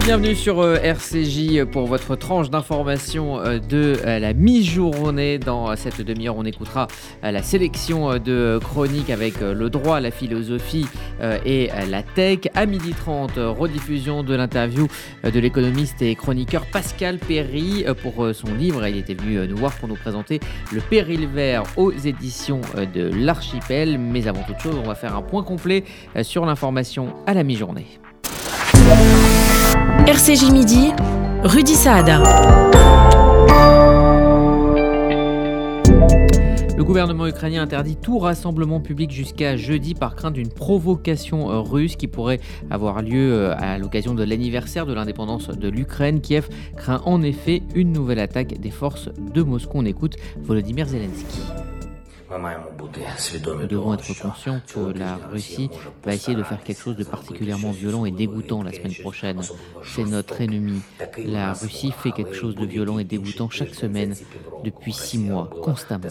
Bienvenue sur RCJ pour votre tranche d'information de la mi-journée. Dans cette demi-heure, on écoutera la sélection de chroniques avec le droit, la philosophie et la tech. À 12h30, rediffusion de l'interview de l'économiste et chroniqueur Pascal Perry pour son livre. Il était venu nous voir pour nous présenter Le Péril vert aux éditions de l'Archipel. Mais avant toute chose, on va faire un point complet sur l'information à la mi-journée. RCJ Midi, Rudy Saad. Le gouvernement ukrainien interdit tout rassemblement public jusqu'à jeudi par crainte d'une provocation russe qui pourrait avoir lieu à l'occasion de l'anniversaire de l'indépendance de l'Ukraine. Kiev craint en effet une nouvelle attaque des forces de Moscou. On écoute Volodymyr Zelensky. Nous devons être conscients que la Russie va essayer de faire quelque chose de particulièrement violent et dégoûtant la semaine prochaine. C'est notre ennemi. La Russie fait quelque chose de violent et dégoûtant chaque semaine depuis 6 mois, constamment.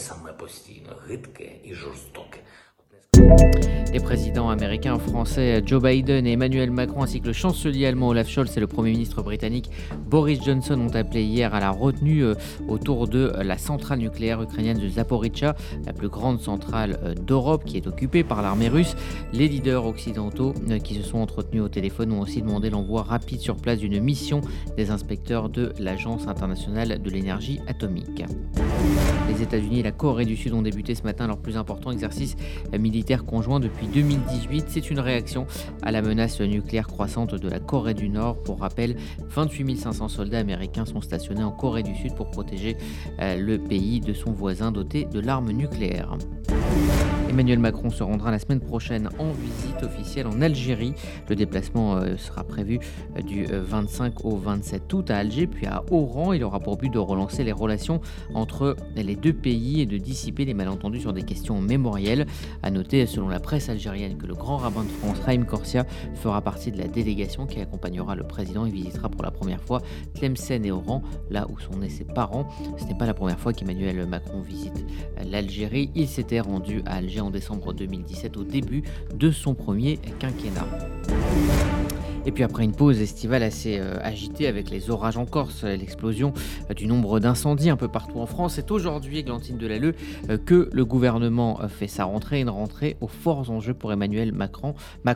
Les présidents américains, français Joe Biden et Emmanuel Macron ainsi que le chancelier allemand Olaf Scholz et le premier ministre britannique Boris Johnson ont appelé hier à la retenue autour de la centrale nucléaire ukrainienne de Zaporizhzhia, la plus grande centrale d'Europe qui est occupée par l'armée russe. Les leaders occidentaux qui se sont entretenus au téléphone ont aussi demandé l'envoi rapide sur place d'une mission des inspecteurs de l'Agence internationale de l'énergie atomique. Les États-Unis et la Corée du Sud ont débuté ce matin leur plus important exercice militaire conjoint depuis 2018. C'est une réaction à la menace nucléaire croissante de la Corée du Nord. Pour rappel, 28 500 soldats américains sont stationnés en Corée du Sud pour protéger le pays de son voisin doté de l'arme nucléaire. Emmanuel Macron se rendra la semaine prochaine en visite officielle en Algérie. Le déplacement sera prévu du 25 au 27 août à Alger, puis à Oran. Il aura pour but de relancer les relations entre les deux pays et de dissiper les malentendus sur des questions mémorielles. À noter, selon la presse algérienne, que le grand rabbin de France, Haïm Korsia, fera partie de la délégation qui accompagnera le président et visitera pour la première fois Tlemcen et Oran, là où sont nés ses parents. Ce n'est pas la première fois qu'Emmanuel Macron visite l'Algérie. Il s'était rendu à Alger en décembre 2017 au début de son premier quinquennat. Et puis après une pause estivale assez agitée avec les orages en Corse, l'explosion du nombre d'incendies un peu partout en France, c'est aujourd'hui, Églantine Delalleux, que le gouvernement fait sa rentrée, une rentrée aux forts enjeux pour Emmanuel Macron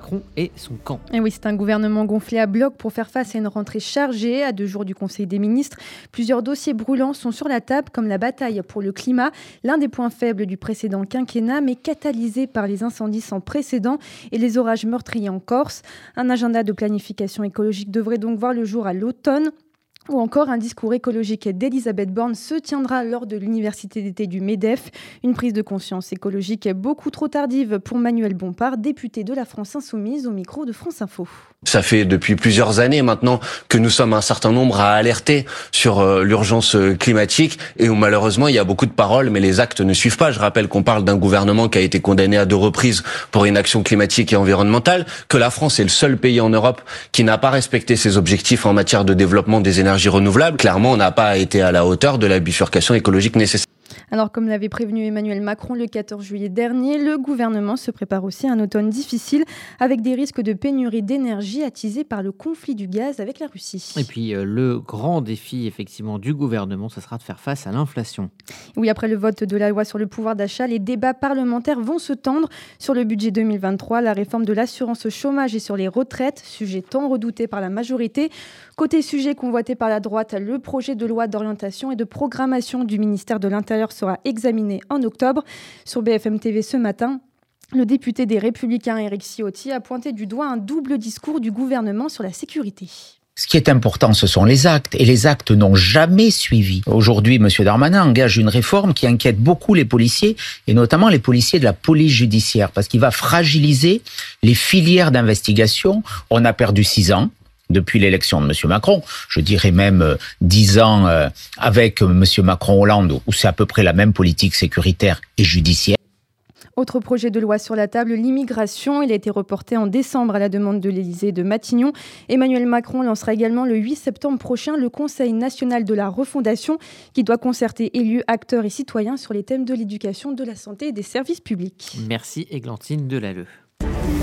et son camp. Et oui, c'est un gouvernement gonflé à bloc pour faire face à une rentrée chargée. À 2 jours du Conseil des ministres, plusieurs dossiers brûlants sont sur la table, comme la bataille pour le climat, l'un des points faibles du précédent quinquennat, mais catalysé par les incendies sans précédent et les orages meurtriers en Corse. Un agenda de planification écologique devrait donc voir le jour à l'automne. Ou encore un discours écologique d'Elisabeth Borne se tiendra lors de l'université d'été du MEDEF. Une prise de conscience écologique beaucoup trop tardive pour Manuel Bompard, député de la France Insoumise au micro de France Info. Ça fait depuis plusieurs années maintenant que nous sommes un certain nombre à alerter sur l'urgence climatique et où malheureusement il y a beaucoup de paroles mais les actes ne suivent pas. Je rappelle qu'on parle d'un gouvernement qui a été condamné à 2 reprises pour inaction climatique et environnementale, que la France est le seul pays en Europe qui n'a pas respecté ses objectifs en matière de développement des énergies renouvelables. Clairement, on n'a pas été à la hauteur de la bifurcation écologique nécessaire. Alors, comme l'avait prévenu Emmanuel Macron le 14 juillet dernier, le gouvernement se prépare aussi à un automne difficile avec des risques de pénurie d'énergie attisés par le conflit du gaz avec la Russie. Et puis, le grand défi, effectivement, du gouvernement, ce sera de faire face à l'inflation. Oui, après le vote de la loi sur le pouvoir d'achat, les débats parlementaires vont se tendre sur le budget 2023, la réforme de l'assurance chômage et sur les retraites, sujet tant redouté par la majorité. Côté sujet convoité par la droite, le projet de loi d'orientation et de programmation du ministère de l'Intérieur sera examiné en octobre. Sur BFM TV ce matin, le député des Républicains Éric Ciotti a pointé du doigt un double discours du gouvernement sur la sécurité. Ce qui est important, ce sont les actes, et les actes n'ont jamais suivi. Aujourd'hui, M. Darmanin engage une réforme qui inquiète beaucoup les policiers, et notamment les policiers de la police judiciaire, parce qu'il va fragiliser les filières d'investigation. On a perdu 6 ans. Depuis l'élection de M. Macron, je dirais même 10 ans avec M. Macron-Hollande, où c'est à peu près la même politique sécuritaire et judiciaire. Autre projet de loi sur la table, l'immigration. Il a été reporté en décembre à la demande de l'Élysée et de Matignon. Emmanuel Macron lancera également le 8 septembre prochain le Conseil national de la refondation qui doit concerter élus, acteurs et citoyens sur les thèmes de l'éducation, de la santé et des services publics. Merci Églantine Delalleux.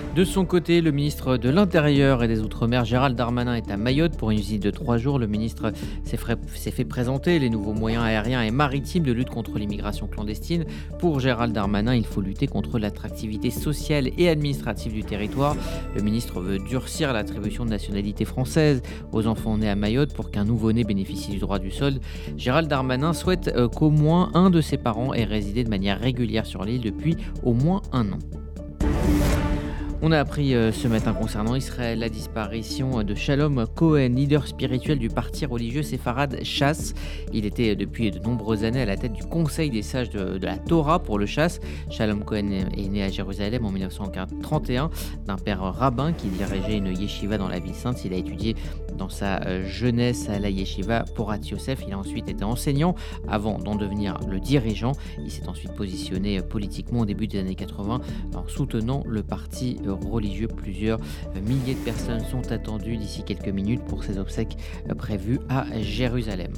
De son côté, le ministre de l'Intérieur et des Outre-mer, Gérald Darmanin, est à Mayotte pour une visite de 3 jours. Le ministre s'est fait présenter les nouveaux moyens aériens et maritimes de lutte contre l'immigration clandestine. Pour Gérald Darmanin, il faut lutter contre l'attractivité sociale et administrative du territoire. Le ministre veut durcir l'attribution de nationalité française aux enfants nés à Mayotte pour qu'un nouveau-né bénéficie du droit du sol. Gérald Darmanin souhaite qu'au moins un de ses parents ait résidé de manière régulière sur l'île depuis au moins un an. On a appris ce matin concernant Israël la disparition de Shalom Cohen, leader spirituel du parti religieux séfarade Chasse. Il était depuis de nombreuses années à la tête du Conseil des sages de la Torah pour le Chasse. Shalom Cohen est né à Jérusalem en 1931 d'un père rabbin qui dirigeait une yeshiva dans la ville sainte. Il a étudié dans sa jeunesse à la yeshiva Porat Yosef. Il a ensuite été enseignant avant d'en devenir le dirigeant. Il s'est ensuite positionné politiquement au début des années 80 en soutenant le parti religieux. Plusieurs milliers de personnes sont attendues d'ici quelques minutes pour ses obsèques prévues à Jérusalem.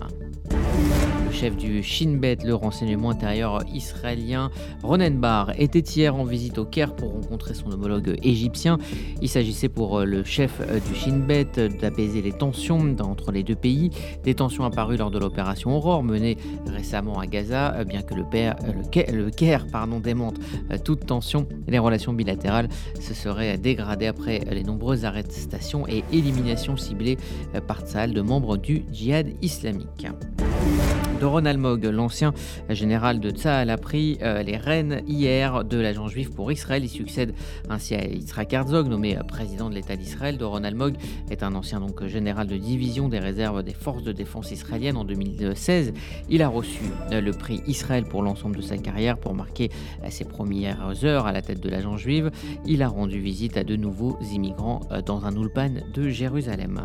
Le chef du Shin Bet, le renseignement intérieur israélien, Ronen Bar, était hier en visite au Caire pour rencontrer son homologue égyptien. Il s'agissait pour le chef du Shin Bet d'apaiser les tensions entre les deux pays. Des tensions apparues lors de l'opération Aurore menée récemment à Gaza, bien que le Caire démente toute tension. Les relations bilatérales se seraient dégradées après les nombreuses arrestations et éliminations ciblées par Tsahal de membres du djihad islamique. Doron Almog, l'ancien général de Tsahal, a pris les rênes hier de l'agent juif pour Israël. Il succède ainsi à Yitzhak Herzog, nommé président de l'État d'Israël. Doron Almog est un ancien général de division des réserves des forces de défense israéliennes. En 2016, il a reçu le prix Israël pour l'ensemble de sa carrière pour marquer ses premières heures à la tête de l'agent juive. Il a rendu visite à de nouveaux immigrants dans un oulpan de Jérusalem.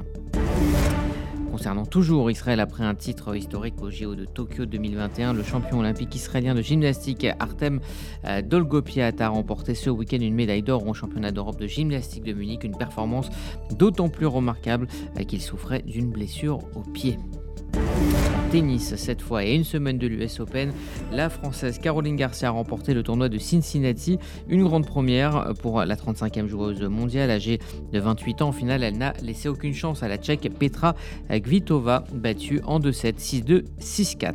Concernant toujours Israël, après un titre historique au JO de Tokyo 2021, le champion olympique israélien de gymnastique Artem Dolgopiat a remporté ce week-end une médaille d'or au championnat d'Europe de gymnastique de Munich, une performance d'autant plus remarquable qu'il souffrait d'une blessure au pied. Tennis cette fois et une semaine de l'US Open, la Française Caroline Garcia a remporté le tournoi de Cincinnati, une grande première pour la 35e joueuse mondiale âgée de 28 ans. En finale, elle n'a laissé aucune chance à la Tchèque Petra Kvitova, battue en 2-7, 6-2, 6-4.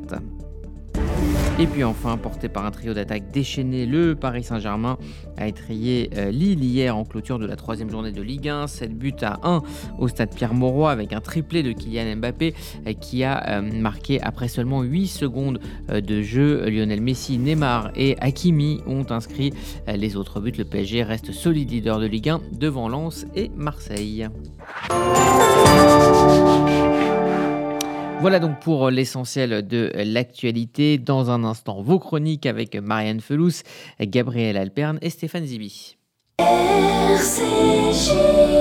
Et puis enfin, porté par un trio d'attaques déchaîné, le Paris Saint-Germain a étrillé Lille hier en clôture de la 3e journée de Ligue 1. 7 buts à 1 au stade Pierre-Mauroy avec un triplé de Kylian Mbappé qui a marqué après seulement 8 secondes de jeu. Lionel Messi, Neymar et Hakimi ont inscrit les autres buts. Le PSG reste solide leader de Ligue 1 devant Lens et Marseille. Voilà donc pour l'essentiel de l'actualité. Dans un instant, vos chroniques avec Marianne Felous, Gabriel Alperne et Stéphane Zibi. RCJ.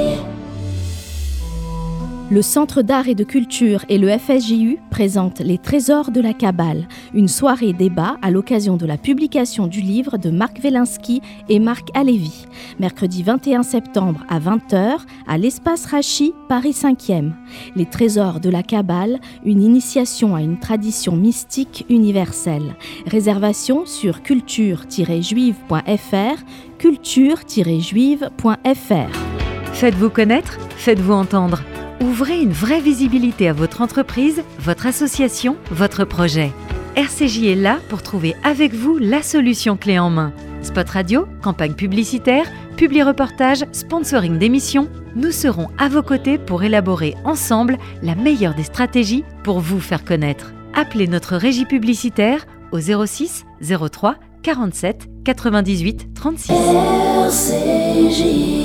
Le Centre d'art et de culture et le FSJU présentent Les Trésors de la Kabbale, une soirée débat à l'occasion de la publication du livre de Marc Wielinski et Marc Halévy, mercredi 21 septembre à 20h à l'Espace Rachi, Paris 5e. Les Trésors de la Kabbale, une initiation à une tradition mystique universelle. Réservation sur culture-juive.fr, culture-juive.fr. Faites-vous connaître, faites-vous entendre. Ouvrez une vraie visibilité à votre entreprise, votre association, votre projet. RCJ est là pour trouver avec vous la solution clé en main. Spot radio, campagne publicitaire, publi-reportage, sponsoring d'émissions, nous serons à vos côtés pour élaborer ensemble la meilleure des stratégies pour vous faire connaître. Appelez notre régie publicitaire au 06 03 47 98 36. RCJ.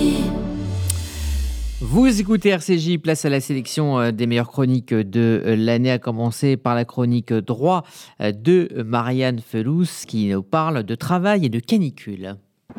Vous écoutez RCJ, place à la sélection des meilleures chroniques de l'année, à commencer par la chronique droit de Marianne Felous qui nous parle de travail et de canicule.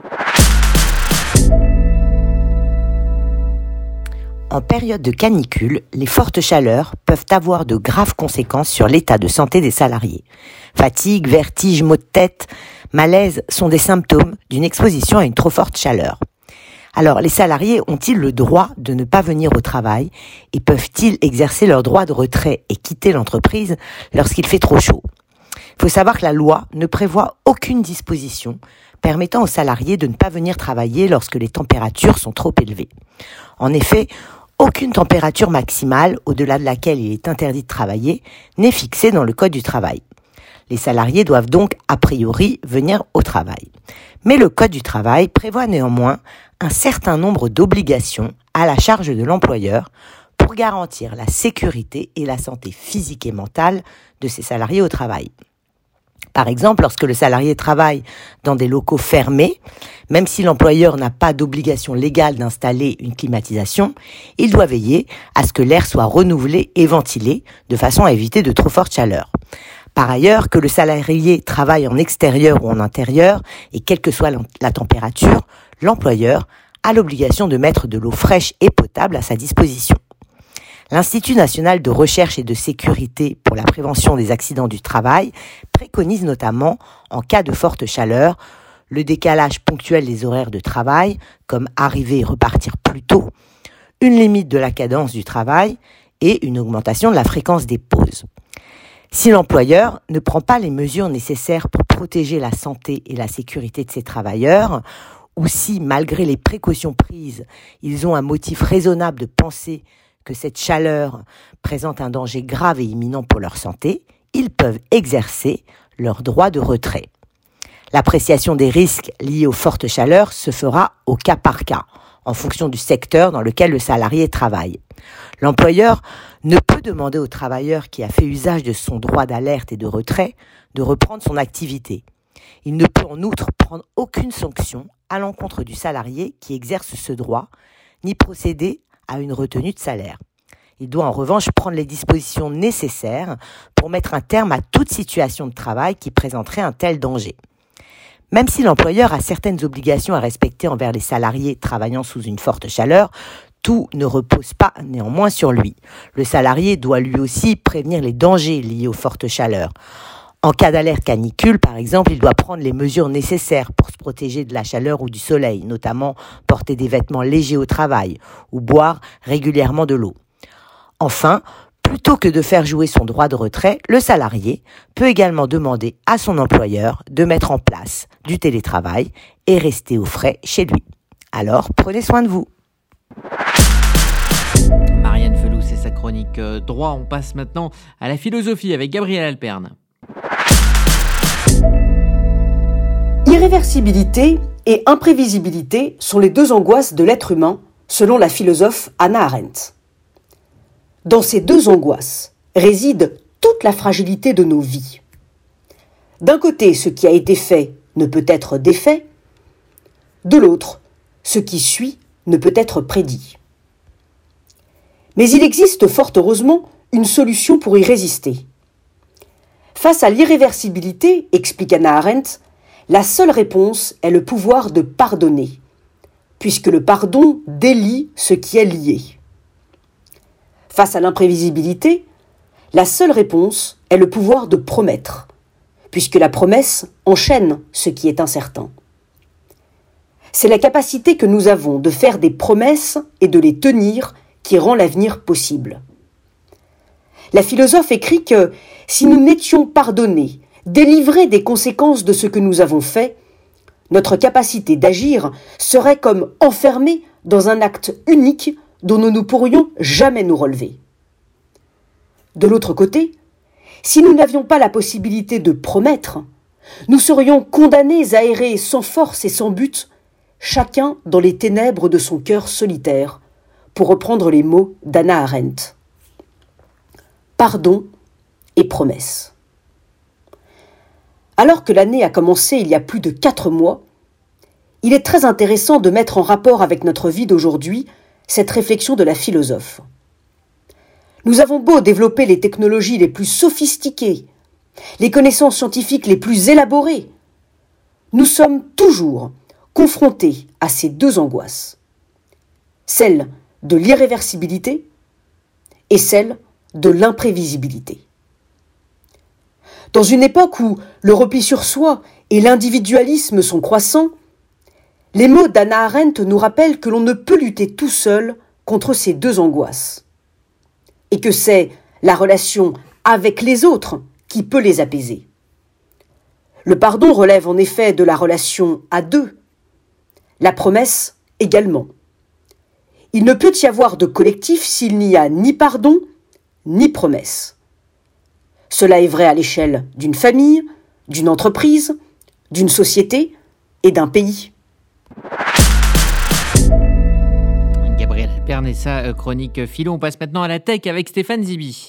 En période de canicule, les fortes chaleurs peuvent avoir de graves conséquences sur l'état de santé des salariés. Fatigue, vertige, maux de tête, malaise sont des symptômes d'une exposition à une trop forte chaleur. Alors, les salariés ont-ils le droit de ne pas venir au travail et peuvent-ils exercer leur droit de retrait et quitter l'entreprise lorsqu'il fait trop chaud ? Il faut savoir que la loi ne prévoit aucune disposition permettant aux salariés de ne pas venir travailler lorsque les températures sont trop élevées. En effet, aucune température maximale au-delà de laquelle il est interdit de travailler n'est fixée dans le Code du travail. Les salariés doivent donc, a priori, venir au travail. Mais le Code du travail prévoit néanmoins un certain nombre d'obligations à la charge de l'employeur pour garantir la sécurité et la santé physique et mentale de ses salariés au travail. Par exemple, lorsque le salarié travaille dans des locaux fermés, même si l'employeur n'a pas d'obligation légale d'installer une climatisation, il doit veiller à ce que l'air soit renouvelé et ventilé de façon à éviter de trop fortes chaleurs. Par ailleurs, que le salarié travaille en extérieur ou en intérieur, et quelle que soit la température, l'employeur a l'obligation de mettre de l'eau fraîche et potable à sa disposition. L'Institut national de recherche et de sécurité pour la prévention des accidents du travail préconise notamment, en cas de forte chaleur, le décalage ponctuel des horaires de travail, comme arriver et repartir plus tôt, une limite de la cadence du travail et une augmentation de la fréquence des pauses. Si l'employeur ne prend pas les mesures nécessaires pour protéger la santé et la sécurité de ses travailleurs, ou si, malgré les précautions prises, ils ont un motif raisonnable de penser que cette chaleur présente un danger grave et imminent pour leur santé, ils peuvent exercer leur droit de retrait. L'appréciation des risques liés aux fortes chaleurs se fera au cas par cas, en fonction du secteur dans lequel le salarié travaille. L'employeur ne peut demander au travailleur qui a fait usage de son droit d'alerte et de retrait de reprendre son activité. Il ne peut en outre prendre aucune sanction à l'encontre du salarié qui exerce ce droit, ni procéder à une retenue de salaire. Il doit en revanche prendre les dispositions nécessaires pour mettre un terme à toute situation de travail qui présenterait un tel danger. Même si l'employeur a certaines obligations à respecter envers les salariés travaillant sous une forte chaleur, tout ne repose pas néanmoins sur lui. Le salarié doit lui aussi prévenir les dangers liés aux fortes chaleurs. En cas d'alerte canicule, par exemple, il doit prendre les mesures nécessaires pour se protéger de la chaleur ou du soleil, notamment porter des vêtements légers au travail ou boire régulièrement de l'eau. Enfin, plutôt que de faire jouer son droit de retrait, le salarié peut également demander à son employeur de mettre en place du télétravail et rester au frais chez lui. Alors, prenez soin de vous. Marianne Felous et sa chronique droit. On passe maintenant à la philosophie avec Gabriel Alperne. Irréversibilité et imprévisibilité sont les deux angoisses de l'être humain, selon la philosophe Hannah Arendt. Dans ces deux angoisses réside toute la fragilité de nos vies. D'un côté, ce qui a été fait ne peut être défait. De l'autre, ce qui suit ne peut être prédit. Mais il existe fort heureusement une solution pour y résister. Face à l'irréversibilité, explique Hannah Arendt, la seule réponse est le pouvoir de pardonner, puisque le pardon délie ce qui est lié. Face à l'imprévisibilité, la seule réponse est le pouvoir de promettre, puisque la promesse enchaîne ce qui est incertain. C'est la capacité que nous avons de faire des promesses et de les tenir qui rend l'avenir possible. La philosophe écrit que si nous n'étions pardonnés, délivrés des conséquences de ce que nous avons fait, notre capacité d'agir serait comme enfermée dans un acte unique dont nous ne pourrions jamais nous relever. De l'autre côté, si nous n'avions pas la possibilité de promettre, nous serions condamnés à errer sans force et sans but, chacun dans les ténèbres de son cœur solitaire, pour reprendre les mots d'Hannah Arendt. Pardon et promesse. Alors que l'année a commencé il y a plus de 4 mois, il est très intéressant de mettre en rapport avec notre vie d'aujourd'hui cette réflexion de la philosophe. Nous avons beau développer les technologies les plus sophistiquées, les connaissances scientifiques les plus élaborées, nous sommes toujours confrontés à ces deux angoisses, celle de l'irréversibilité et celle de l'imprévisibilité. Dans une époque où le repli sur soi et l'individualisme sont croissants, les mots d'Hannah Arendt nous rappellent que l'on ne peut lutter tout seul contre ces deux angoisses, et que c'est la relation avec les autres qui peut les apaiser. Le pardon relève en effet de la relation à deux. La promesse également. Il ne peut y avoir de collectif s'il n'y a ni pardon, ni promesse. Cela est vrai à l'échelle d'une famille, d'une entreprise, d'une société et d'un pays. Gabriel Alperne et sa chronique philo. On passe maintenant à la tech avec Stéphane Zibi.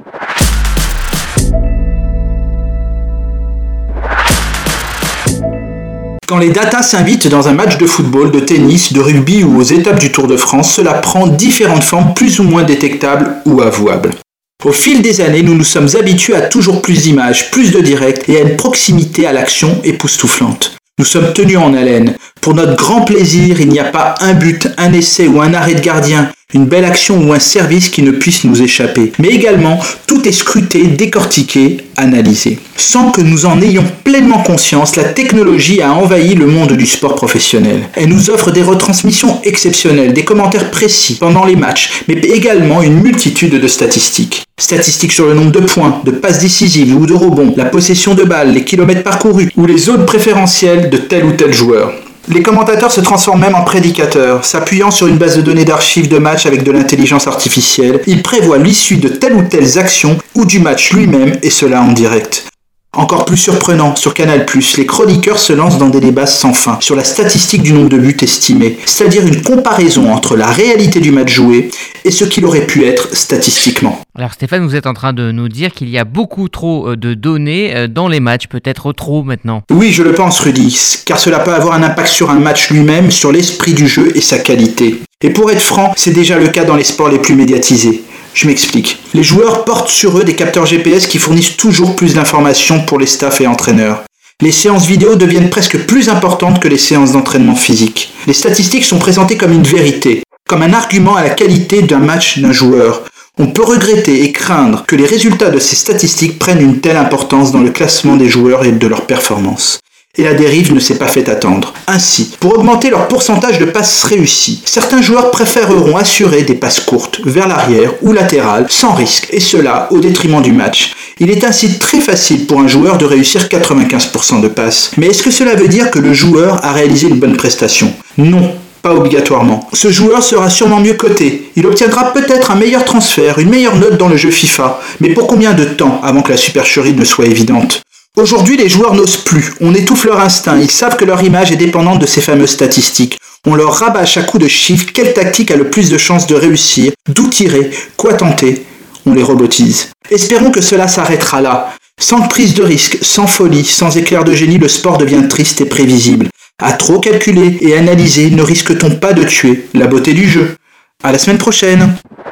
Quand les data s'invitent dans un match de football, de tennis, de rugby ou aux étapes du Tour de France, cela prend différentes formes plus ou moins détectables ou avouables. Au fil des années, nous nous sommes habitués à toujours plus d'images, plus de directs et à une proximité à l'action époustouflante. Nous sommes tenus en haleine. Pour notre grand plaisir, il n'y a pas un but, un essai ou un arrêt de gardien, une belle action ou un service qui ne puisse nous échapper. Mais également, tout est scruté, décortiqué, analysé. Sans que nous en ayons pleinement conscience, la technologie a envahi le monde du sport professionnel. Elle nous offre des retransmissions exceptionnelles, des commentaires précis pendant les matchs, mais également une multitude de statistiques. Statistiques sur le nombre de points, de passes décisives ou de rebonds, la possession de balles, les kilomètres parcourus ou les zones préférentielles de tel ou tel joueur. Les commentateurs se transforment même en prédicateurs. S'appuyant sur une base de données d'archives de match avec de l'intelligence artificielle, ils prévoient l'issue de telle ou telle action ou du match lui-même, et cela en direct. Encore plus surprenant, sur Canal+, les chroniqueurs se lancent dans des débats sans fin sur la statistique du nombre de buts estimés, c'est-à-dire une comparaison entre la réalité du match joué et ce qu'il aurait pu être statistiquement. Alors Stéphane, vous êtes en train de nous dire qu'il y a beaucoup trop de données dans les matchs, peut-être trop maintenant. Oui, je le pense Rudy, car cela peut avoir un impact sur un match lui-même, sur l'esprit du jeu et sa qualité. Et pour être franc, c'est déjà le cas dans les sports les plus médiatisés. Je m'explique. Les joueurs portent sur eux des capteurs GPS qui fournissent toujours plus d'informations pour les staffs et entraîneurs. Les séances vidéo deviennent presque plus importantes que les séances d'entraînement physique. Les statistiques sont présentées comme une vérité, comme un argument à la qualité d'un match d'un joueur. On peut regretter et craindre que les résultats de ces statistiques prennent une telle importance dans le classement des joueurs et de leurs performances. Et la dérive ne s'est pas fait attendre. Ainsi, pour augmenter leur pourcentage de passes réussies, certains joueurs préféreront assurer des passes courtes, vers l'arrière ou latérales, sans risque, et cela au détriment du match. Il est ainsi très facile pour un joueur de réussir 95% de passes. Mais est-ce que cela veut dire que le joueur a réalisé une bonne prestation ? Non. Pas obligatoirement. Ce joueur sera sûrement mieux coté. Il obtiendra peut-être un meilleur transfert, une meilleure note dans le jeu FIFA. Mais pour combien de temps avant que la supercherie ne soit évidente ? Aujourd'hui, les joueurs n'osent plus. On étouffe leur instinct. Ils savent que leur image est dépendante de ces fameuses statistiques. On leur rabâche à coups de chiffres quelle tactique a le plus de chances de réussir, d'où tirer, quoi tenter. On les robotise. Espérons que cela s'arrêtera là. Sans prise de risque, sans folie, sans éclair de génie, le sport devient triste et prévisible. À trop calculer et analyser, ne risque-t-on pas de tuer la beauté du jeu ? À la semaine prochaine.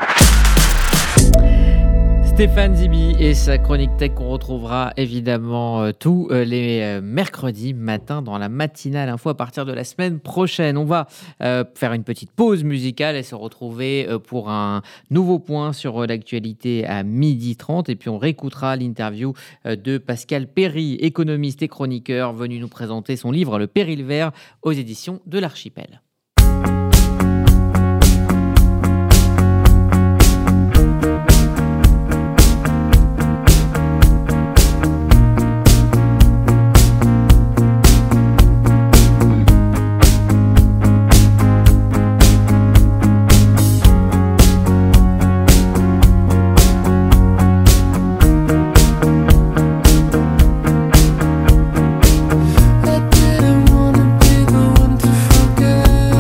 Stéphane Zibi et sa chronique tech qu'on retrouvera évidemment tous les mercredis matin dans la matinale info à partir de la semaine prochaine. On va faire une petite pause musicale et se retrouver pour un nouveau point sur l'actualité à 12h30 et puis on réécoutera l'interview de Pascal Perry, économiste et chroniqueur venu nous présenter son livre Le Péril vert aux éditions de l'Archipel. I didn't wanna be the one to forget.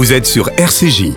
Vous êtes sur RCJ.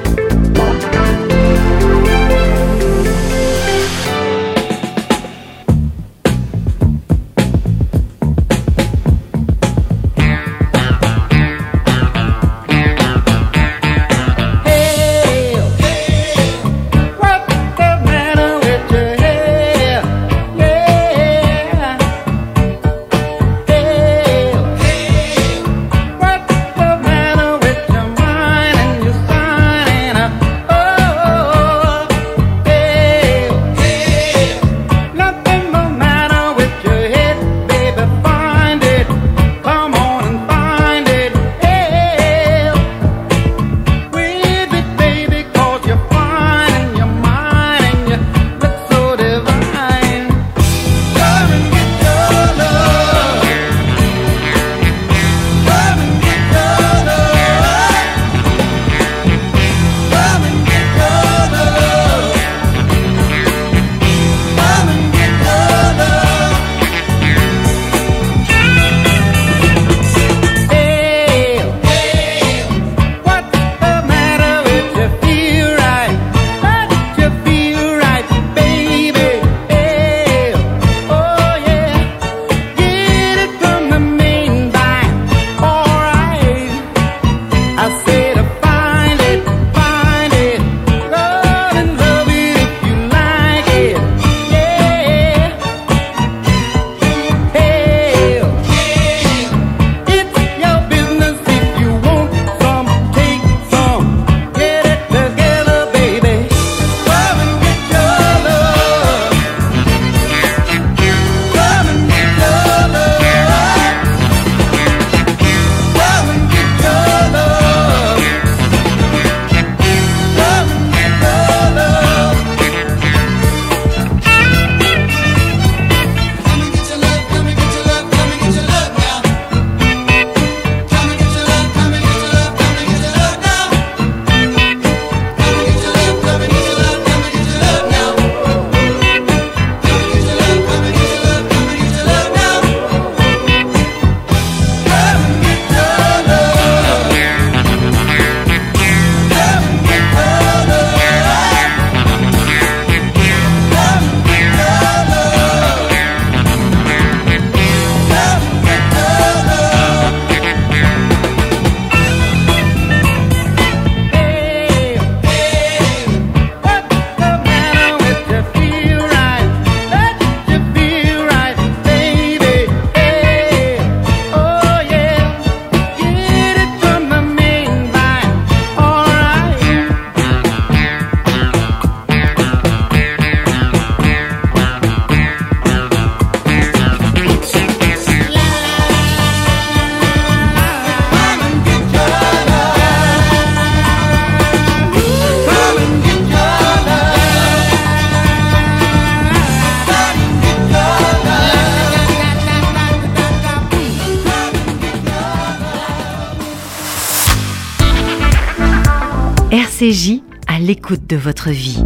RCJ, à l'écoute de votre vie.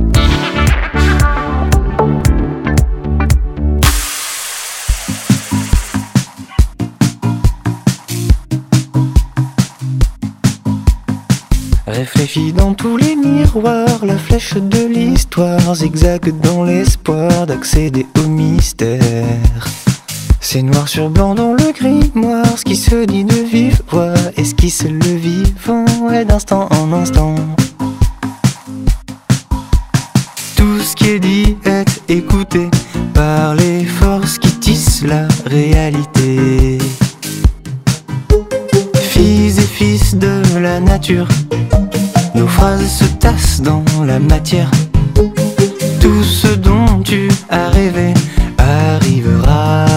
Réfléchis dans tous les miroirs, la flèche de l'histoire zigzague dans l'espoir d'accéder au mystère. C'est noir sur blanc dans le grimoire, ce qui se dit de vive voix esquisse le vivant et d'instant en instant. Tout ce qui est dit est écouté par les forces qui tissent la réalité. Filles et fils de la nature, nos phrases se tassent dans la matière. Tout ce dont tu as rêvé arrivera.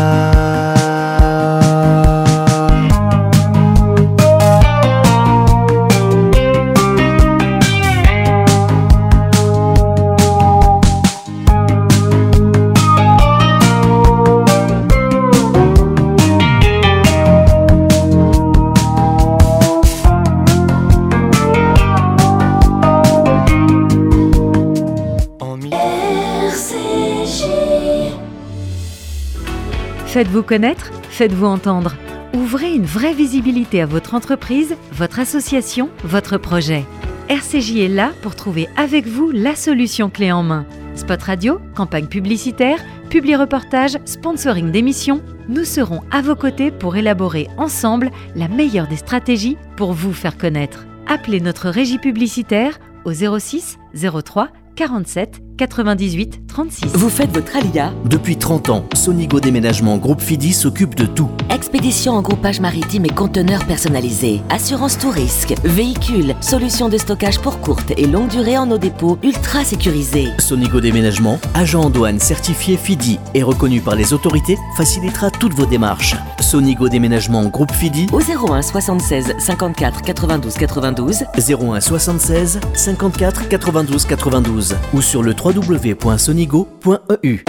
Faites-vous connaître, faites-vous entendre. Ouvrez une vraie visibilité à votre entreprise, votre association, votre projet. RCJ est là pour trouver avec vous la solution clé en main. Spot radio, campagne publicitaire, publi-reportage, sponsoring d'émissions, nous serons à vos côtés pour élaborer ensemble la meilleure des stratégies pour vous faire connaître. Appelez notre régie publicitaire au 06 03 47 98 36. Vous faites votre alia? Depuis 30 ans, Sonigo Déménagement Groupe Fidi s'occupe de tout. Expédition en groupage maritime et conteneurs personnalisés, assurance tout risque, véhicules, solutions de stockage pour courte et longue durée en eau dépôt ultra sécurisés. Sonigo Déménagement, agent en douane certifié Fidi et reconnu par les autorités, facilitera toutes vos démarches. Sonigo Déménagement Groupe Fidi au 01 76 54 92 92 01 76 54 92 92 ou sur le www.sonigo.eu.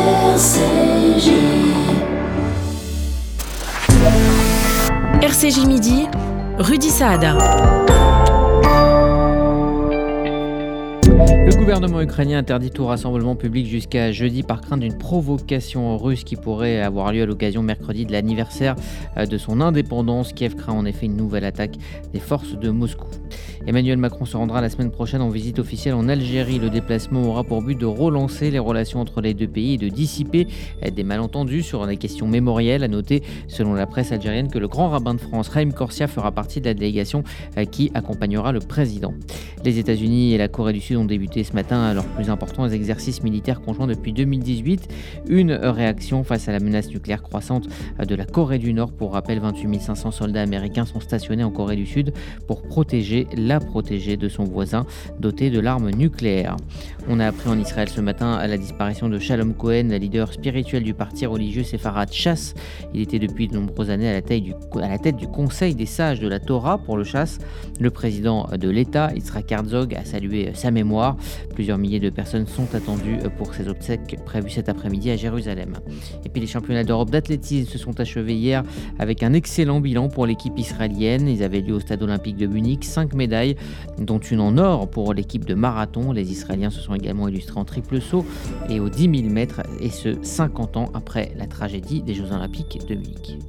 RCJ Midi, Rudy Saada. Le gouvernement ukrainien interdit tout rassemblement public jusqu'à jeudi par crainte d'une provocation russe qui pourrait avoir lieu à l'occasion mercredi de l'anniversaire de son indépendance. Kiev craint en effet une nouvelle attaque des forces de Moscou. Emmanuel Macron se rendra la semaine prochaine en visite officielle en Algérie. Le déplacement aura pour but de relancer les relations entre les deux pays et de dissiper des malentendus sur des questions mémorielles. À noter, selon la presse algérienne, que le grand rabbin de France, Haïm Corsia, fera partie de la délégation qui accompagnera le président. Les États-Unis et la Corée du Sud ont débuté ce matin leurs plus importants exercices militaires conjoints depuis 2018. Une réaction face à la menace nucléaire croissante de la Corée du Nord. Pour rappel, 28 500 soldats américains sont stationnés en Corée du Sud pour protéger de son voisin doté de l'arme nucléaire. On a appris en Israël ce matin à la disparition de Shalom Cohen, la leader spirituelle du parti religieux séfarade Chasse. Il était depuis de nombreuses années à la tête du Conseil des sages de la Torah pour le Chasse. Le président de l'État, Yitzhak Herzog, a salué sa mémoire. Plusieurs milliers de personnes sont attendues pour ces obsèques prévues cet après-midi à Jérusalem. Et puis les championnats d'Europe d'athlétisme se sont achevés hier avec un excellent bilan pour l'équipe israélienne. Ils avaient lieu au stade olympique de Munich, 5 médailles, dont une en or pour l'équipe de marathon. Les Israéliens se sont également illustrés en triple saut et aux 10 000 mètres, et ce 50 ans après la tragédie des Jeux Olympiques de Munich.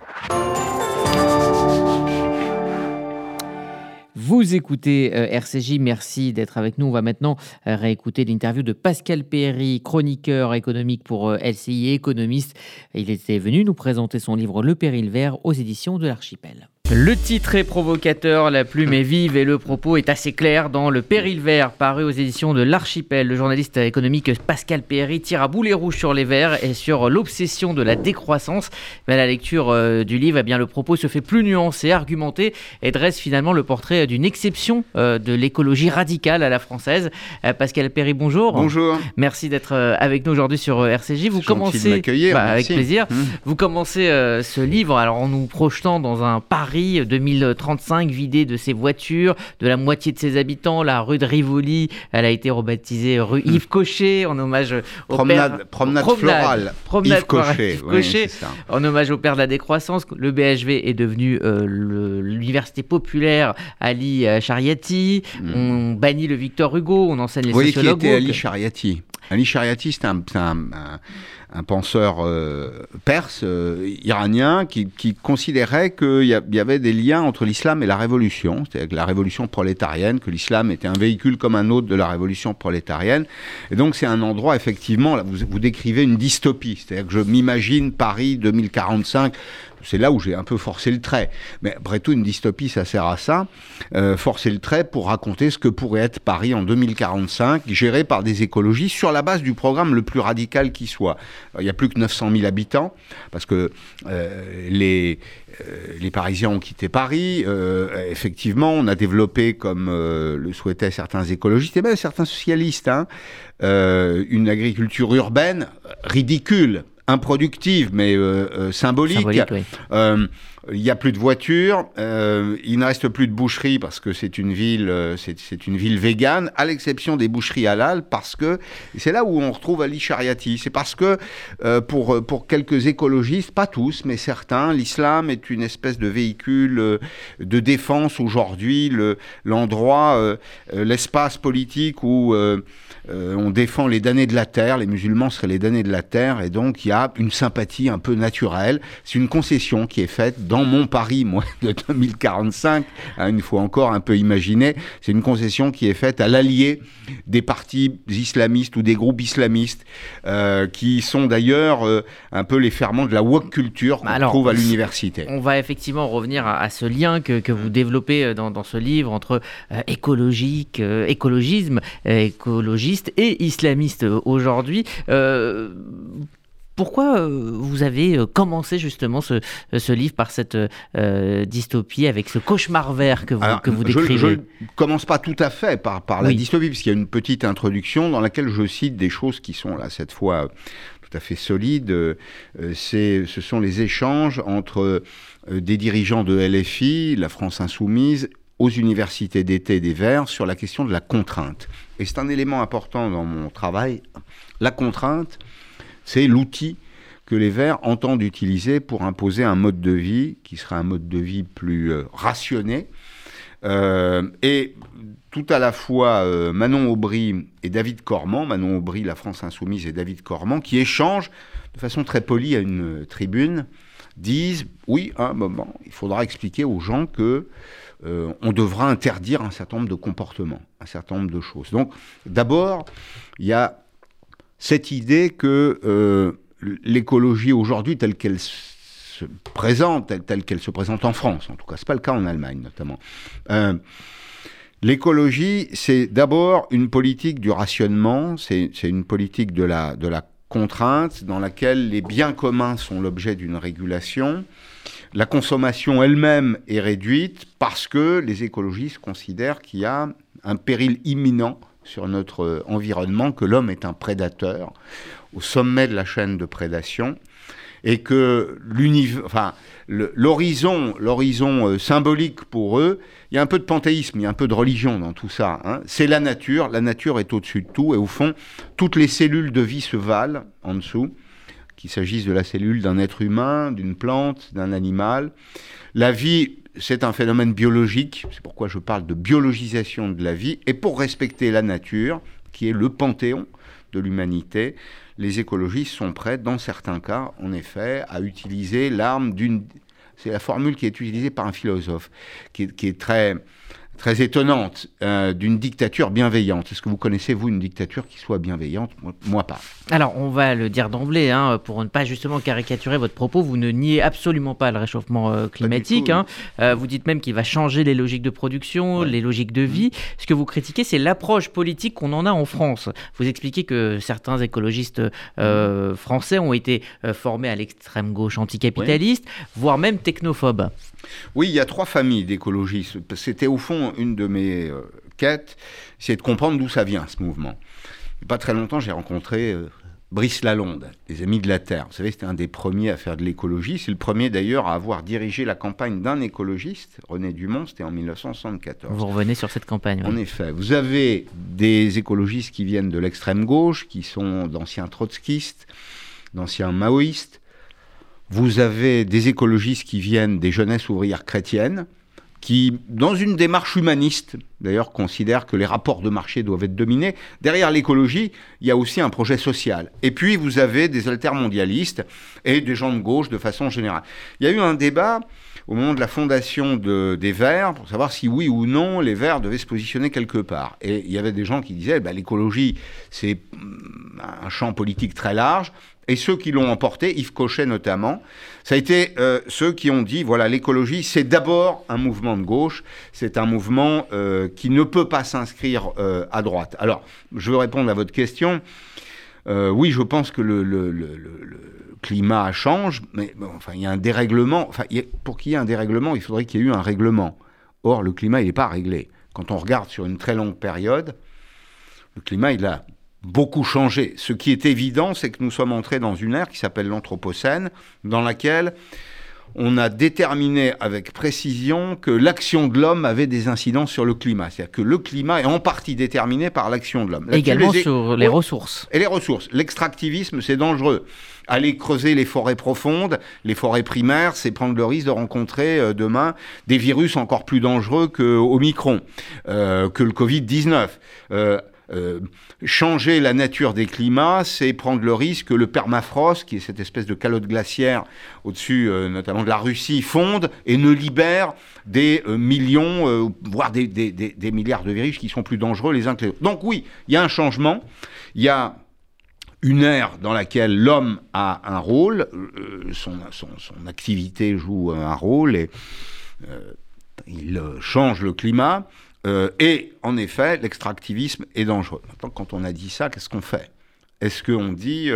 Vous écoutez RCJ, merci d'être avec nous. On va maintenant réécouter l'interview de Pascal Péry, chroniqueur économique pour LCI et économiste. Il était venu nous présenter son livre Le Péril vert aux éditions de l'Archipel. Le titre est provocateur, la plume est vive et le propos est assez clair dans Le Péril vert, paru aux éditions de l'Archipel. Le journaliste économique Pascal Péry tire à boulet rouge sur les verts et sur l'obsession de la décroissance. Mais à la lecture du livre, eh bien, le propos se fait plus nuancé, argumenté et dresse finalement le portrait d'une exception de l'écologie radicale à la française. Pascal Péry, bonjour. Bonjour. Merci d'être avec nous aujourd'hui sur RCJ. Vous commencez, de m'accueillir, avec plaisir. Vous commencez ce livre alors en nous projetant dans un Paris 2035 vidé de ses voitures, de la moitié de ses habitants. La rue de Rivoli, elle a été rebaptisée rue Yves Cochet en hommage au promenade florale Yves Cochet, oui, en hommage au père de la décroissance. Le BHV est devenu l'université populaire Ali Shariati. On bannit le Victor Hugo, on enseigne les sociologues. Qui était Ali Shariati? Ali Shariati, c'est un penseur perse, iranien, qui considérait qu'il y avait des liens entre l'islam et la révolution, c'est-à-dire que la révolution prolétarienne, que l'islam était un véhicule comme un autre de la révolution prolétarienne. Et donc c'est un endroit, effectivement, là, vous décrivez une dystopie, c'est-à-dire que je m'imagine Paris 2045, c'est là où j'ai un peu forcé le trait. Mais après tout, une dystopie, ça sert à ça. Forcer le trait pour raconter ce que pourrait être Paris en 2045, géré par des écologistes sur la base du programme le plus radical qui soit. Il n'y a plus que 900 000 habitants, parce que les Parisiens ont quitté Paris. Effectivement, on a développé, comme le souhaitaient certains écologistes, et même certains socialistes, une agriculture urbaine ridicule, improductive, mais symbolique. Oui. il n'y a plus de voitures, il ne reste plus de boucheries parce que c'est une ville végane, à l'exception des boucheries halal, parce que c'est là où on retrouve Ali Shariati. C'est parce que pour quelques écologistes, pas tous, mais certains, l'islam est une espèce de véhicule de défense aujourd'hui, l'endroit, l'espace politique où on défend les damnés de la terre, les musulmans seraient les damnés de la terre, et donc il y a une sympathie un peu naturelle. C'est une concession qui est faite dans mon Paris, moi, de 2045, une fois encore un peu imaginé, c'est une concession qui est faite à l'allié des partis islamistes ou des groupes islamistes, qui sont d'ailleurs un peu les ferments de la woke culture qu'on trouve à l'université. On va effectivement revenir à ce lien que vous développez dans ce livre entre écologisme, écologiste et islamiste aujourd'hui. Pourquoi vous avez commencé justement ce livre par cette dystopie, avec ce cauchemar vert que vous décrivez? Je ne commence pas tout à fait par la dystopie, puisqu'il y a une petite introduction dans laquelle je cite des choses qui sont là, cette fois, tout à fait solides. Ce sont les échanges entre des dirigeants de LFI, la France Insoumise, aux universités d'été des Verts sur la question de la contrainte. Et c'est un élément important dans mon travail. La contrainte, c'est l'outil que les Verts entendent utiliser pour imposer un mode de vie qui sera un mode de vie plus rationné. Et tout à la fois Manon Aubry et David Cormand, Manon Aubry, la France Insoumise, et David Cormand, qui échangent de façon très polie à une tribune, disent « Oui, à un moment, il faudra expliquer aux gens que on devra interdire un certain nombre de comportements, un certain nombre de choses. » Donc, d'abord, il y a cette idée que l'écologie aujourd'hui, telle qu'elle se présente, telle qu'elle se présente en France, en tout cas, c'est pas le cas en Allemagne notamment. L'écologie, c'est d'abord une politique du rationnement, c'est une politique de la contrainte dans laquelle les biens communs sont l'objet d'une régulation. La consommation elle-même est réduite parce que les écologistes considèrent qu'il y a un péril imminent sur notre environnement, que l'homme est un prédateur au sommet de la chaîne de prédation, et que l'horizon symbolique pour eux, il y a un peu de panthéisme, il y a un peu de religion dans tout ça, hein. C'est la nature est au-dessus de tout, et au fond, toutes les cellules de vie se valent en dessous, qu'il s'agisse de la cellule d'un être humain, d'une plante, d'un animal. La vie, c'est un phénomène biologique, c'est pourquoi je parle de biologisation de la vie, et pour respecter la nature, qui est le panthéon de l'humanité, les écologistes sont prêts, dans certains cas, en effet, à utiliser l'arme d'une... C'est la formule qui est utilisée par un philosophe, qui est très étonnante, d'une dictature bienveillante. Est-ce que vous connaissez, vous, une dictature qui soit bienveillante ? Moi, pas. Alors, on va le dire d'emblée, pour ne pas justement caricaturer votre propos, vous ne niez absolument pas le réchauffement climatique. Vous dites même qu'il va changer les logiques de production, les logiques de vie. Ce que vous critiquez, c'est l'approche politique qu'on en a en France. Vous expliquez que certains écologistes français ont été formés à l'extrême gauche anticapitaliste, voire même technophobes. Oui, il y a 3 familles d'écologistes. C'était au fond une de mes quêtes, c'est de comprendre d'où ça vient, ce mouvement. Il n'y a pas très longtemps, j'ai rencontré Brice Lalonde, les Amis de la Terre. Vous savez, c'était un des premiers à faire de l'écologie. C'est le premier d'ailleurs à avoir dirigé la campagne d'un écologiste, René Dumont, c'était en 1974. Vous revenez sur cette campagne. En effet, vous avez des écologistes qui viennent de l'extrême gauche, qui sont d'anciens trotskistes, d'anciens maoïstes. Vous avez des écologistes qui viennent des jeunesses ouvrières chrétiennes, qui, dans une démarche humaniste, d'ailleurs, considèrent que les rapports de marché doivent être dominés. Derrière l'écologie, il y a aussi un projet social. Et puis, vous avez des altermondialistes et des gens de gauche de façon générale. Il y a eu un débat au moment de la fondation des Verts pour savoir si oui ou non les Verts devaient se positionner quelque part. Et il y avait des gens qui disaient l'écologie, c'est un champ politique très large. Et ceux qui l'ont emporté, Yves Cochet notamment, ça a été ceux qui ont dit, voilà, l'écologie, c'est d'abord un mouvement de gauche, c'est un mouvement qui ne peut pas s'inscrire à droite. Alors, je veux répondre à votre question. Oui, je pense que le climat change, mais bon, enfin, il y a un dérèglement. Enfin, pour qu'il y ait un dérèglement, il faudrait qu'il y ait eu un règlement. Or, le climat, il n'est pas réglé. Quand on regarde sur une très longue période, le climat, il a beaucoup changé. Ce qui est évident, c'est que nous sommes entrés dans une ère qui s'appelle l'Anthropocène, dans laquelle on a déterminé avec précision que l'action de l'homme avait des incidences sur le climat. C'est-à-dire que le climat est en partie déterminé par l'action de l'homme. Également sur les ressources. Et les ressources. L'extractivisme, c'est dangereux. Aller creuser les forêts profondes, les forêts primaires, c'est prendre le risque de rencontrer demain des virus encore plus dangereux que Omicron, que le Covid-19. Changer la nature des climats, c'est prendre le risque que le permafrost, qui est cette espèce de calotte glaciaire au-dessus notamment de la Russie, fonde et ne libère des millions, voire des milliards de virus qui sont plus dangereux les uns que les autres. Donc oui, il y a un changement, il y a une ère dans laquelle l'homme a un rôle, son activité joue un rôle et il change le climat. Et en effet, l'extractivisme est dangereux. Maintenant, quand on a dit ça, qu'est-ce qu'on fait ? Est-ce qu'on dit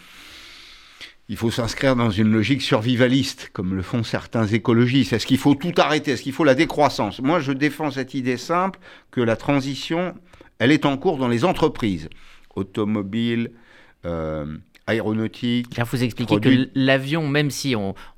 il faut s'inscrire dans une logique survivaliste, comme le font certains écologistes ? Est-ce qu'il faut tout arrêter ? Est-ce qu'il faut la décroissance ? Moi, je défends cette idée simple que la transition, elle est en cours dans les entreprises automobiles, aéronautique. Là, vous expliquez que l'avion, même si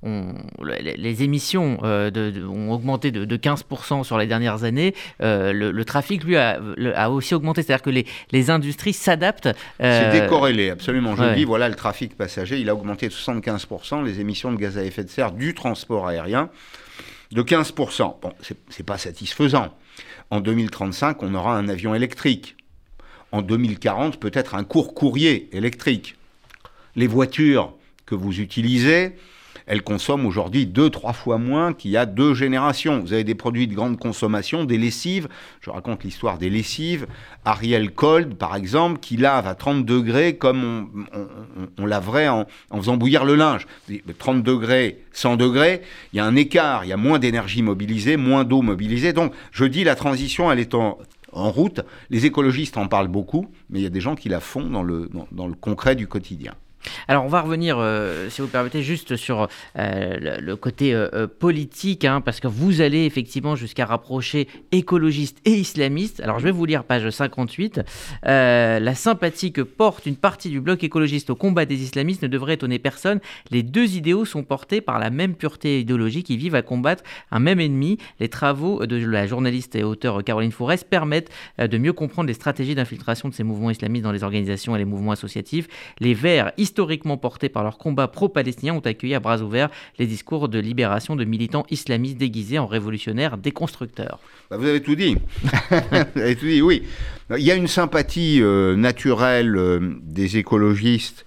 les émissions ont augmenté de 15% sur les dernières années, le trafic, lui, a aussi augmenté. C'est-à-dire que les industries s'adaptent. C'est décorrélé, absolument. Je dis, voilà, le trafic passager, il a augmenté de 75%, les émissions de gaz à effet de serre du transport aérien de 15%. Bon, c'est pas satisfaisant. En 2035, on aura un avion électrique. En 2040, peut-être un court courrier électrique. Les voitures que vous utilisez, elles consomment aujourd'hui 2-3 fois moins qu'il y a 2 générations. Vous avez des produits de grande consommation, des lessives. Je raconte l'histoire des lessives. Ariel Cold, par exemple, qui lave à 30 degrés comme on laverait en faisant bouillir le linge. 30 degrés, 100 degrés, il y a un écart, il y a moins d'énergie mobilisée, moins d'eau mobilisée. Donc, je dis, la transition, elle est en route. Les écologistes en parlent beaucoup, mais il y a des gens qui la font dans le concret du quotidien. Alors, on va revenir, si vous permettez, juste sur le côté politique, parce que vous allez effectivement jusqu'à rapprocher écologistes et islamistes. Alors, je vais vous lire page 58. La sympathie que porte une partie du bloc écologiste au combat des islamistes ne devrait étonner personne. Les 2 idéaux sont portés par la même pureté idéologique. Ils vivent à combattre un même ennemi. Les travaux de la journaliste et auteure Caroline Fourès permettent de mieux comprendre les stratégies d'infiltration de ces mouvements islamistes dans les organisations et les mouvements associatifs. Les Verts, historiquement portés par leur combat pro-palestinien, ont accueilli à bras ouverts les discours de libération de militants islamistes déguisés en révolutionnaires déconstructeurs. Vous avez tout dit. Vous avez tout dit, oui. Il y a une sympathie naturelle des écologistes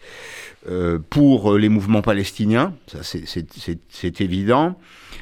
pour les mouvements palestiniens, ça c'est évident.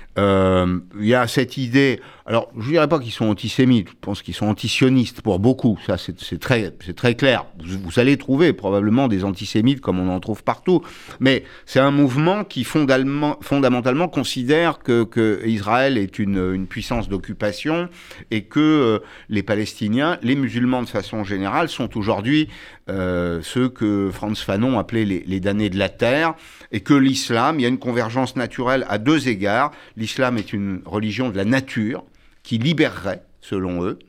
Il y a cette idée, alors je ne dirais pas qu'ils sont antisémites, je pense qu'ils sont antisionistes pour beaucoup, ça c'est très clair. Vous allez trouver probablement des antisémites comme on en trouve partout, mais c'est un mouvement qui fondamentalement considère que Israël est une puissance d'occupation et que les Palestiniens, les musulmans de façon générale, sont aujourd'hui ceux que Frantz Fanon appelait les damnés de la terre, et que l'islam, il y a une convergence naturelle à 2 égards. L'islam est une religion de la nature qui libérerait, selon eux,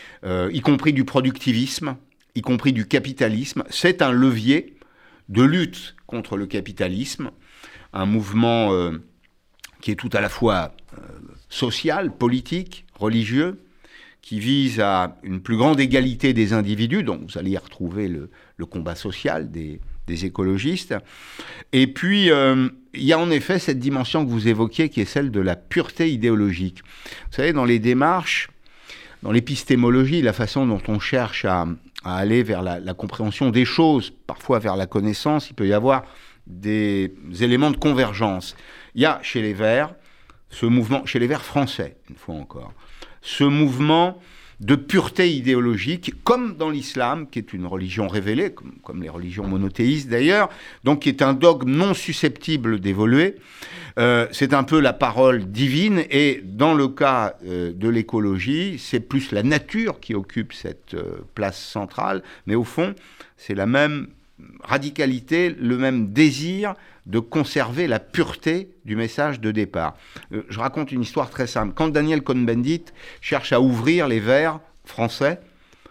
y compris du productivisme, y compris du capitalisme. C'est un levier de lutte contre le capitalisme, un mouvement qui est tout à la fois social, politique, religieux, qui vise à une plus grande égalité des individus, donc vous allez y retrouver le combat social des écologistes. Et puis, il y a en effet cette dimension que vous évoquiez, qui est celle de la pureté idéologique. Vous savez, dans les démarches, dans l'épistémologie, la façon dont on cherche à aller vers la compréhension des choses, parfois vers la connaissance, il peut y avoir des éléments de convergence. Il y a chez les Verts, ce mouvement, chez les Verts français, une fois encore, ce mouvement de pureté idéologique, comme dans l'islam, qui est une religion révélée, comme les religions monothéistes d'ailleurs, donc qui est un dogme non susceptible d'évoluer. C'est un peu la parole divine, et dans le cas de l'écologie, c'est plus la nature qui occupe cette place centrale, mais au fond, c'est la même radicalité, le même désir de conserver la pureté du message de départ. Je raconte une histoire très simple. Quand Daniel Cohn-Bendit cherche à ouvrir les Verts français,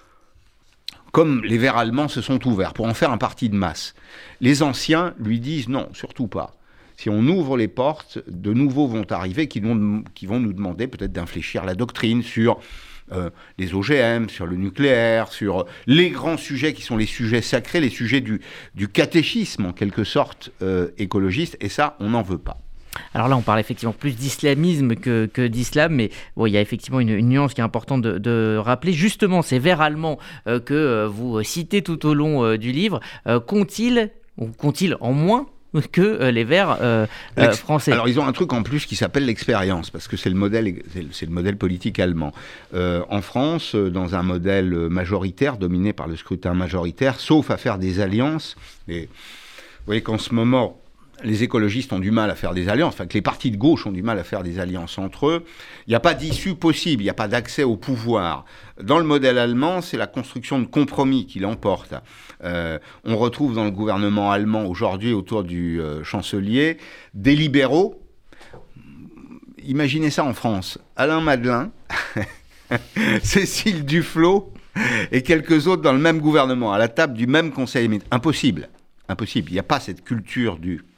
comme les Verts allemands se sont ouverts, pour en faire un parti de masse, les anciens lui disent non, surtout pas. si on ouvre les portes, de nouveaux vont arriver qui vont nous demander peut-être d'infléchir la doctrine sur les OGM, sur le nucléaire, sur les grands sujets qui sont les sujets sacrés, les sujets du catéchisme en quelque sorte écologiste, et ça, on n'en veut pas. Alors là, on parle effectivement plus d'islamisme que d'islam, mais bon, il y a effectivement une nuance qui est importante de rappeler. Justement, ces vers allemands que vous citez tout au long du livre, qu'ont-ils en moins que les vers français? Alors ils ont un truc en plus qui s'appelle l'expérience, parce que c'est le modèle politique allemand. En France, dans un modèle majoritaire, dominé par le scrutin majoritaire, sauf à faire des alliances, et vous voyez qu'en ce moment, les écologistes ont du mal à faire des alliances, enfin que les partis de gauche ont du mal à faire des alliances entre eux. Il n'y a pas d'issue possible, il n'y a pas d'accès au pouvoir. Dans le modèle allemand, c'est la construction de compromis qui l'emporte. On retrouve dans le gouvernement allemand aujourd'hui, autour du chancelier, des libéraux. Imaginez ça en France. Alain Madelin, Cécile Duflot et quelques autres dans le même gouvernement, à la table du même conseil des ministres. Impossible. Il n'y a pas cette culture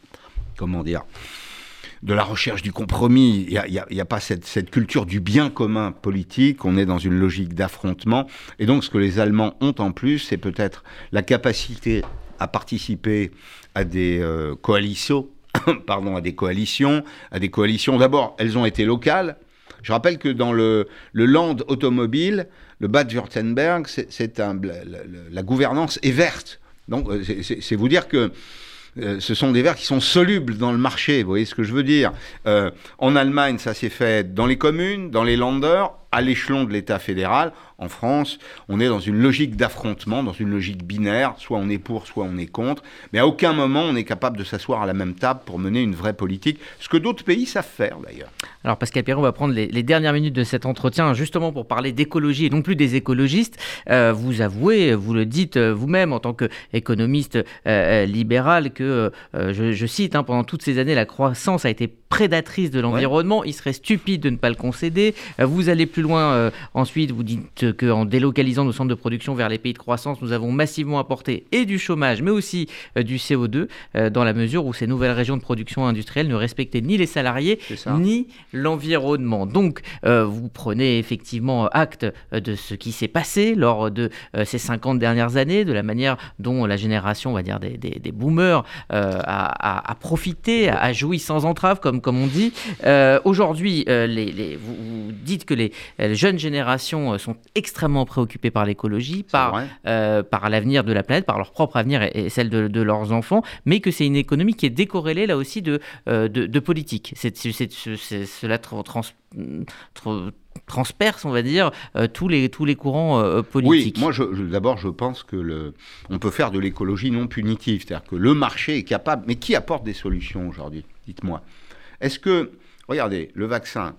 de la recherche du compromis. Il n'y a pas cette culture du bien commun politique. On est dans une logique d'affrontement. Et donc, ce que les Allemands ont en plus, c'est peut-être la capacité à participer à des coalitions. À des coalitions. D'abord, elles ont été locales. Je rappelle que dans le land automobile, le Bade-Württemberg, la gouvernance est verte. Donc, c'est vous dire que ce sont des vers qui sont solubles dans le marché, vous voyez ce que je veux dire. En Allemagne, ça s'est fait dans les communes, dans les Länder, à l'échelon de l'État fédéral. En France, on est dans une logique d'affrontement, dans une logique binaire, soit on est pour, soit on est contre, mais à aucun moment on est capable de s'asseoir à la même table pour mener une vraie politique, ce que d'autres pays savent faire d'ailleurs. Alors Pascal Perron, on va prendre les dernières minutes de cet entretien justement pour parler d'écologie et non plus des écologistes. Vous avouez, vous le dites vous-même en tant qu'économiste libéral que, je cite, pendant toutes ces années, la croissance a été prédatrice de l'environnement. Ouais. Il serait stupide de ne pas le concéder. Vous allez plus loin ensuite, vous dites qu'en délocalisant nos centres de production vers les pays de croissance, nous avons massivement apporté et du chômage, mais aussi du CO2, dans la mesure où ces nouvelles régions de production industrielle ne respectaient ni les salariés, ni l'environnement. Donc, vous prenez effectivement acte de ce qui s'est passé lors de ces 50 dernières années, de la manière dont la génération, on va dire, des boomers a profité, a joui sans entrave, comme on dit. Aujourd'hui, vous dites que les jeunes générations sont extrêmement préoccupées par l'écologie, par l'avenir de la planète, par leur propre avenir et celle de leurs enfants, mais que c'est une économie qui est décorrélée là aussi de politique. Cela transperce, on va dire, tous les courants politiques. Oui, moi d'abord je pense que on peut faire de l'écologie non punitive, c'est-à-dire que le marché est capable, mais qui apporte des solutions aujourd'hui? Dites-moi. Est-ce que, regardez, le vaccin,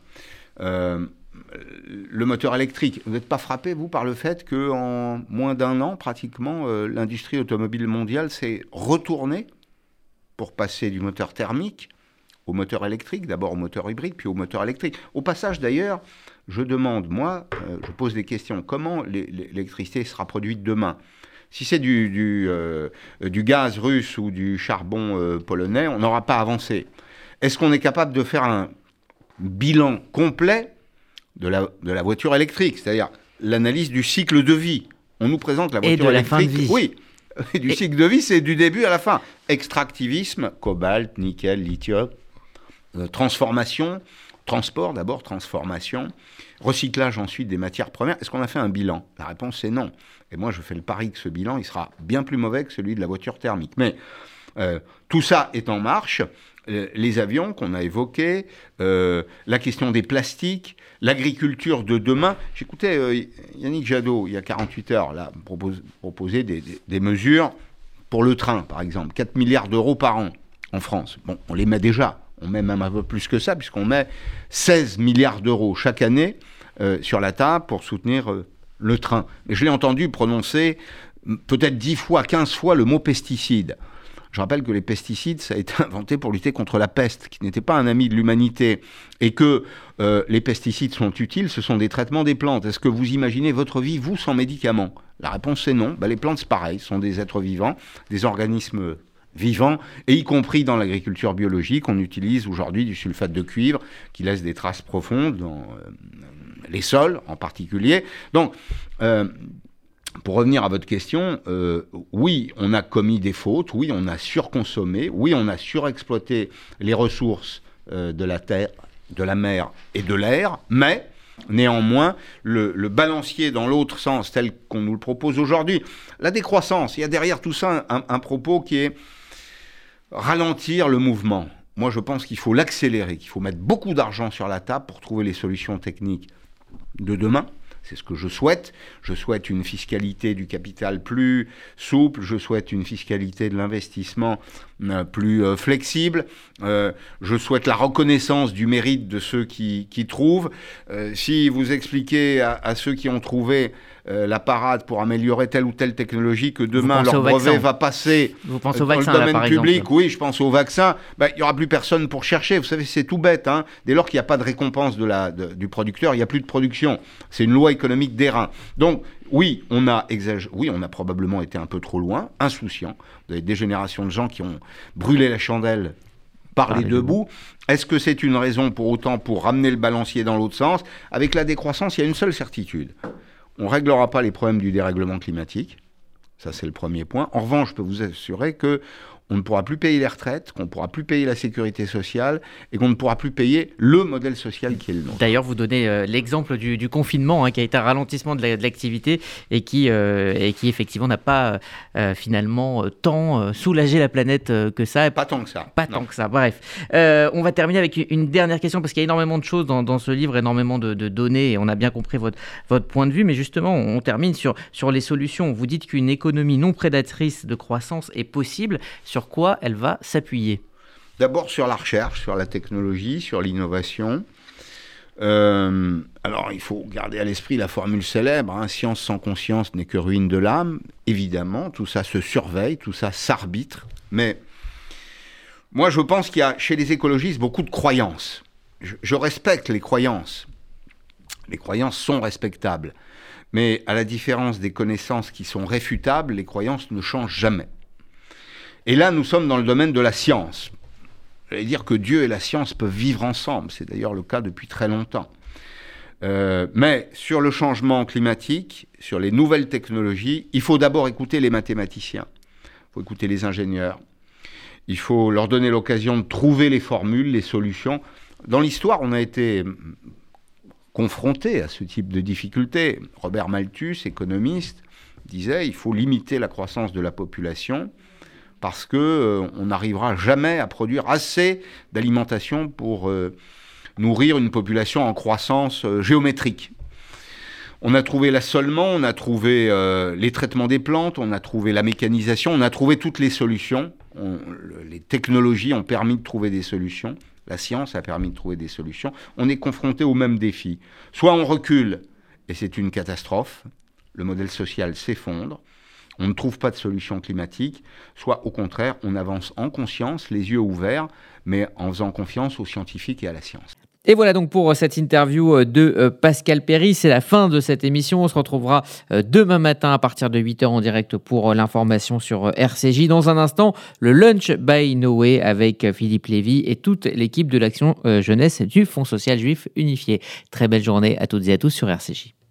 le moteur électrique, vous n'êtes pas frappé, vous, par le fait qu'en moins d'un an, pratiquement, l'industrie automobile mondiale s'est retournée pour passer du moteur thermique au moteur électrique, d'abord au moteur hybride, puis au moteur électrique. Au passage, d'ailleurs, je demande, moi, je pose des questions, comment l'électricité sera produite demain? Si c'est du gaz russe ou du charbon polonais, on n'aura pas avancé. Est-ce qu'on est capable de faire un bilan complet de la voiture électrique, c'est-à-dire l'analyse du cycle de vie? On nous présente la voiture électrique. Et de la fin de vie. Oui, du cycle de vie, c'est du début à la fin. Extractivisme, cobalt, nickel, lithium, transformation, transport d'abord, transformation, recyclage ensuite des matières premières. Est-ce qu'on a fait un bilan? La réponse c'est non. Et moi je fais le pari que ce bilan, il sera bien plus mauvais que celui de la voiture thermique. Mais tout ça est en marche. Les avions qu'on a évoqués, la question des plastiques, l'agriculture de demain. J'écoutais Yannick Jadot, il y a 48 heures, là, proposer des mesures pour le train, par exemple. 4 milliards d'euros par an en France. Bon, on les met déjà. On met même un peu plus que ça, puisqu'on met 16 milliards d'euros chaque année sur la table pour soutenir le train. Mais je l'ai entendu prononcer peut-être 10 fois, 15 fois le mot pesticide. Je rappelle que les pesticides, ça a été inventé pour lutter contre la peste, qui n'était pas un ami de l'humanité, et que les pesticides sont utiles, ce sont des traitements des plantes. Est-ce que vous imaginez votre vie, vous, sans médicaments? La réponse est non. Les plantes, c'est pareil, ce sont des êtres vivants, des organismes vivants, et y compris dans l'agriculture biologique, on utilise aujourd'hui du sulfate de cuivre qui laisse des traces profondes dans les sols en particulier. Donc, pour revenir à votre question, oui, on a commis des fautes, oui, on a surconsommé, oui, on a surexploité les ressources de la terre, de la mer et de l'air, mais néanmoins, le balancier dans l'autre sens, tel qu'on nous le propose aujourd'hui, la décroissance, il y a derrière tout ça un propos qui est ralentir le mouvement. Moi, je pense qu'il faut l'accélérer, qu'il faut mettre beaucoup d'argent sur la table pour trouver les solutions techniques de demain. C'est ce que je souhaite. Je souhaite une fiscalité du capital plus souple. Je souhaite une fiscalité de l'investissement plus flexible. Je souhaite la reconnaissance du mérite de ceux qui trouvent. Si vous expliquez à ceux qui ont trouvé la parade pour améliorer telle ou telle technologie que demain leur brevet va passer dans le domaine public, oui, je pense au vaccin, il n'y aura plus personne pour chercher. Vous savez, c'est tout bête. Dès lors qu'il n'y a pas de récompense du producteur, il n'y a plus de production. C'est une loi économique d'airain. Donc, oui, on a probablement été un peu trop loin, insouciant. Vous avez des générations de gens qui ont brûlé la chandelle par les deux bouts. Est-ce que c'est une raison pour autant pour ramener le balancier dans l'autre sens ? Avec la décroissance, il y a une seule certitude. On ne réglera pas les problèmes du dérèglement climatique. Ça, c'est le premier point. En revanche, je peux vous assurer qu'on ne pourra plus payer les retraites, qu'on ne pourra plus payer la sécurité sociale et qu'on ne pourra plus payer le modèle social qui est le nôtre. D'ailleurs, vous donnez l'exemple du confinement qui a été un ralentissement de l'activité et qui effectivement n'a pas finalement tant soulagé la planète que ça. Pas tant que ça. Tant que ça, bref. On va terminer avec une dernière question parce qu'il y a énormément de choses dans ce livre, énormément de données et on a bien compris votre point de vue. Mais justement, on termine sur les solutions. Vous dites qu'une économie non prédatrice de croissance est possible. Sur quoi elle va s'appuyer ? D'abord sur la recherche, sur la technologie, sur l'innovation. Alors, il faut garder à l'esprit la formule célèbre, science sans conscience n'est que ruine de l'âme. Évidemment, tout ça se surveille, tout ça s'arbitre. Mais moi, je pense qu'il y a chez les écologistes beaucoup de croyances. Je respecte les croyances. Les croyances sont respectables. Mais à la différence des connaissances qui sont réfutables, les croyances ne changent jamais. Et là, nous sommes dans le domaine de la science. J'allais dire que Dieu et la science peuvent vivre ensemble. C'est d'ailleurs le cas depuis très longtemps. Mais sur le changement climatique, sur les nouvelles technologies, il faut d'abord écouter les mathématiciens. Il faut écouter les ingénieurs. Il faut leur donner l'occasion de trouver les formules, les solutions. Dans l'histoire, on a été confronté à ce type de difficultés. Robert Malthus, économiste, disait il faut limiter la croissance de la population parce qu'on n'arrivera jamais à produire assez d'alimentation pour nourrir une population en croissance géométrique. On a trouvé l'assolement, on a trouvé les traitements des plantes, on a trouvé la mécanisation, on a trouvé toutes les solutions. Les technologies ont permis de trouver des solutions. La science a permis de trouver des solutions. On est confronté au même défi. Soit on recule, et c'est une catastrophe, le modèle social s'effondre, on ne trouve pas de solution climatique, soit au contraire, on avance en conscience, les yeux ouverts, mais en faisant confiance aux scientifiques et à la science. Et voilà donc pour cette interview de Pascal Perry. C'est la fin de cette émission. On se retrouvera demain matin à partir de 8h en direct pour l'information sur RCJ. Dans un instant, le Lunch by Noé avec Philippe Lévy et toute l'équipe de l'Action Jeunesse du Fonds social juif unifié. Très belle journée à toutes et à tous sur RCJ.